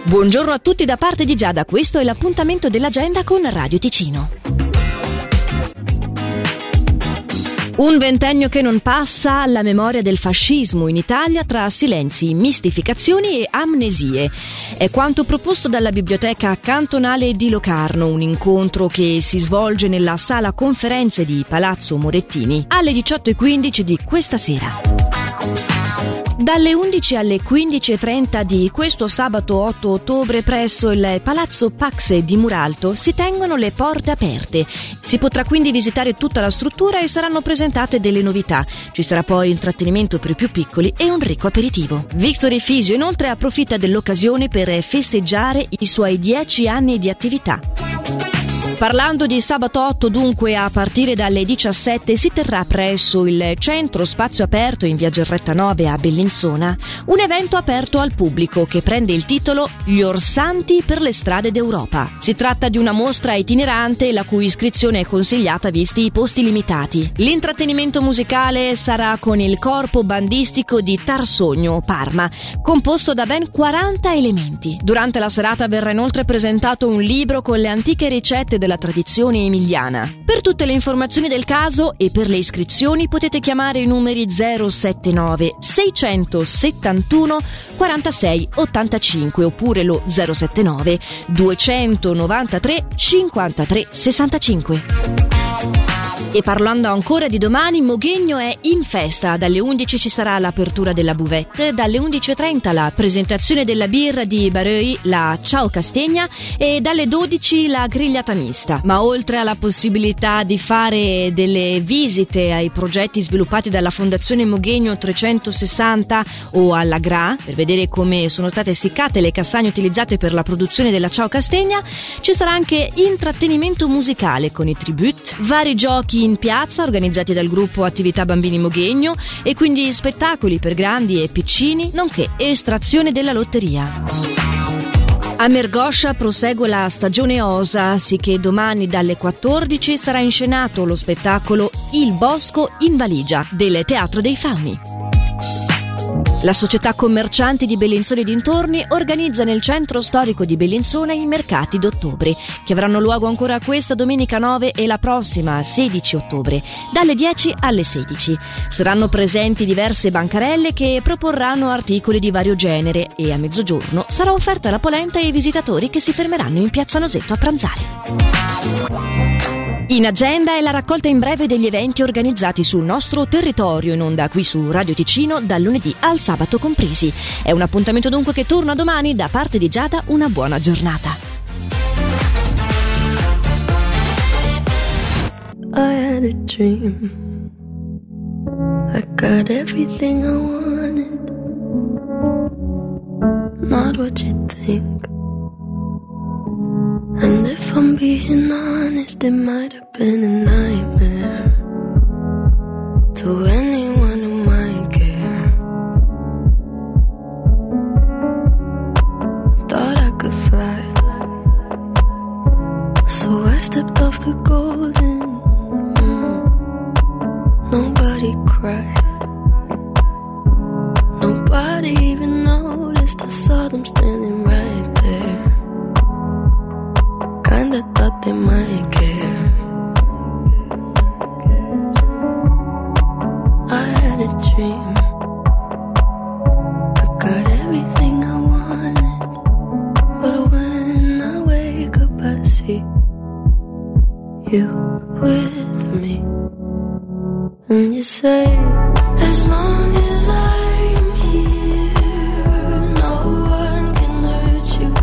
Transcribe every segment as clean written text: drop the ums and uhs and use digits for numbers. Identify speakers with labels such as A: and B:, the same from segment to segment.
A: Buongiorno a tutti da parte di Giada, questo è l'appuntamento dell'agenda con Radio Ticino. Un ventennio che non passa alla memoria del fascismo in Italia tra silenzi, mistificazioni e amnesie. È quanto proposto dalla Biblioteca Cantonale di Locarno, un incontro che si svolge nella sala conferenze di Palazzo Morettini alle 18:15 di questa sera. Dalle 11 alle 15:30 di questo sabato 8 ottobre presso il Palazzo Pax di Muralto si tengono le porte aperte. Si potrà quindi visitare tutta la struttura e saranno presentate delle novità. Ci sarà poi intrattenimento per i più piccoli e un ricco aperitivo. Victor Fisio inoltre approfitta dell'occasione per festeggiare i suoi 10 anni di attività. Parlando di sabato 8, dunque, a partire dalle 17 si terrà presso il Centro Spazio Aperto in via Gerretta 9 a Bellinzona un evento aperto al pubblico che prende il titolo Gli Orsanti per le strade d'Europa. Si tratta di una mostra itinerante la cui iscrizione è consigliata visti i posti limitati. L'intrattenimento musicale sarà con il corpo bandistico di Tarsogno, Parma, composto da ben 40 elementi. Durante la serata verrà inoltre presentato un libro con le antiche ricette della tradizione emiliana. Per tutte le informazioni del caso e per le iscrizioni potete chiamare i numeri 079 671 46 85 oppure lo 079 293 53 65. E parlando ancora di domani, Moghegno è in festa. Dalle 11 ci sarà l'apertura della buvette, dalle 11:30 la presentazione della birra di Bareuil, la Ciao Castegna, e dalle 12 la grigliata mista. Ma oltre alla possibilità di fare delle visite ai progetti sviluppati dalla Fondazione Moghegno 360 o alla GRA, per vedere come sono state essiccate le castagne utilizzate per la produzione della Ciao Castegna, ci sarà anche intrattenimento musicale con i tribute, vari giochi in piazza organizzati dal gruppo Attività Bambini Moghegno e quindi spettacoli per grandi e piccini, nonché estrazione della lotteria. A Mergoscia prosegue la stagione Osa, sicché domani dalle 14 sarà inscenato lo spettacolo Il Bosco in valigia del Teatro dei Fauni. La società commercianti di Bellinzona e dintorni organizza nel centro storico di Bellinzona i mercati d'ottobre, che avranno luogo ancora questa domenica 9 e la prossima 16 ottobre, dalle 10 alle 16. Saranno presenti diverse bancarelle che proporranno articoli di vario genere e a mezzogiorno sarà offerta la polenta ai visitatori che si fermeranno in Piazza Nosetto a pranzare. In agenda è la raccolta in breve degli eventi organizzati sul nostro territorio in onda qui su Radio Ticino dal lunedì al sabato compresi. È un appuntamento dunque che torna domani. Da parte di Giada, una buona giornata.
B: I had a dream. I got everything I wanted. Not what you think. And if I'm being honest, it might have been a nightmare to anyone who might care. Thought I could fly, so I stepped off the golden. Nobody cried, nobody even noticed. I saw them standing right there. Kinda thought they might care. I had a dream. I got everything I wanted. But when I wake up I see you with me. And you say, as long as I'm here, no one can hurt you.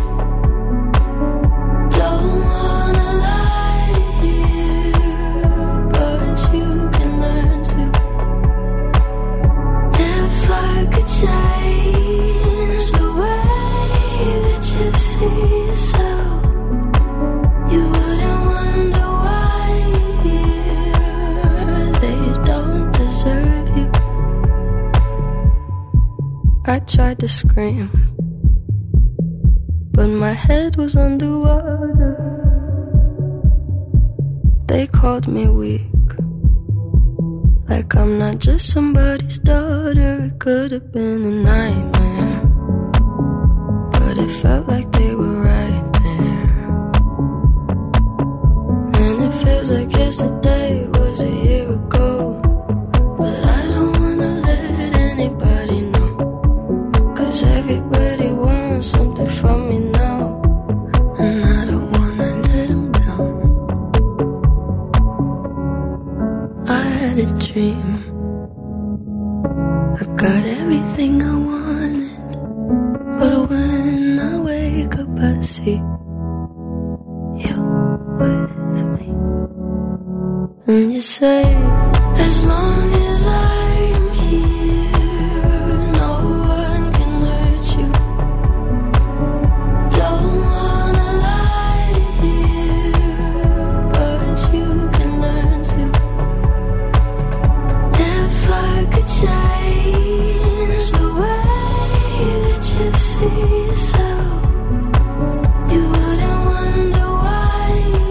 B: Change the way that you see yourself. You wouldn't wonder why they don't deserve you. I tried to scream, but my head was underwater. They called me weak, like I'm not just somebody's daughter. It could have been a nightmare, but but it felt like they were right there. And it feels like yesterday was a year ago, but I don't wanna let anybody know, 'cause everybody wants something from me now, and I don't wanna let them down. I had a dream, I got everything I wanted, but when I wake up I see you with me. And you say, as long as I'm here, no one can hurt you. Don't wanna lie here, but you can learn to. If I could change the way that you see yourself, you wouldn't wonder why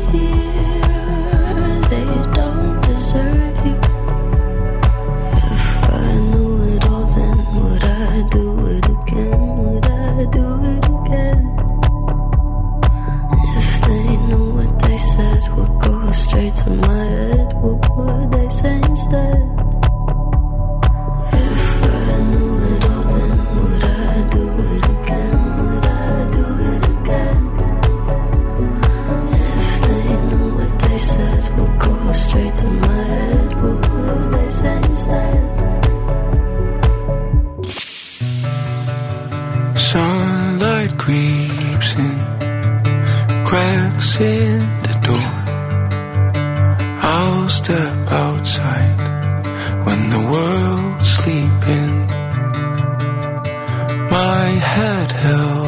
B: they don't deserve you. If I knew it all, then would I do it again? Would I do it again? If they knew what they said would go straight to my head, what would they say instead? If I knew it all, then would I do it again? Would I do it again? If they knew what they said would go straight to my head, what would they say instead?
C: Sunlight creeps in, cracks in the door. I'll step outside when the world's sleeping. My head held